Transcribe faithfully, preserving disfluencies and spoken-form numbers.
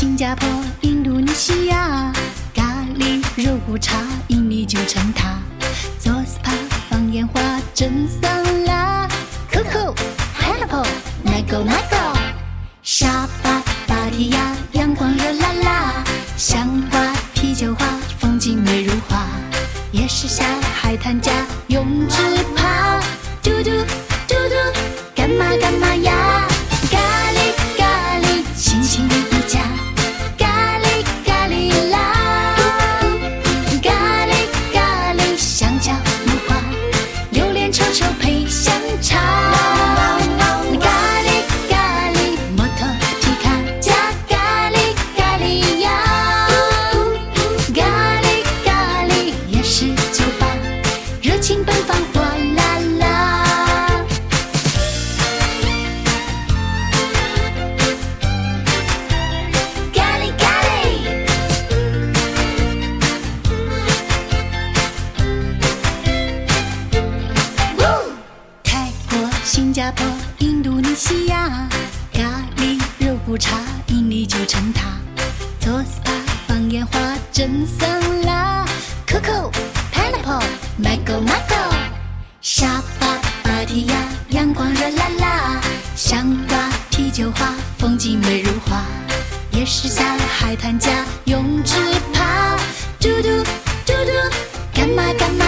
新加坡、印度尼西亚，咖喱、肉骨茶、印尼九层塔，做 S P A 放烟花、蒸桑拿 ，Coco、Pineapple、Mango Mango， 沙巴、芭提雅，阳光热辣辣，香瓜、啤酒花，风景美如画，夜市下海滩家，泳池趴，嘟嘟嘟嘟，干嘛干嘛呀？咖喱咖喱，心情不佳。咖喱咖喱啦，咖喱咖喱，香蕉木瓜，榴莲臭臭配香肠。咖喱咖喱，摩托皮卡加咖喱咖喱呀，咖喱咖喱，夜市酒吧，热情奔放哗啦啦。新加坡、印度尼西亚，咖喱、肉骨茶、印尼九层塔，做 S P A 放烟花、蒸桑拿 ，Coco、Pineapple、Mango Mango， 沙巴、芭提雅，阳光热辣辣，香瓜、啤酒花，风景美如画，夜市下海滩家，泳池趴，嘟嘟嘟嘟，干嘛干嘛？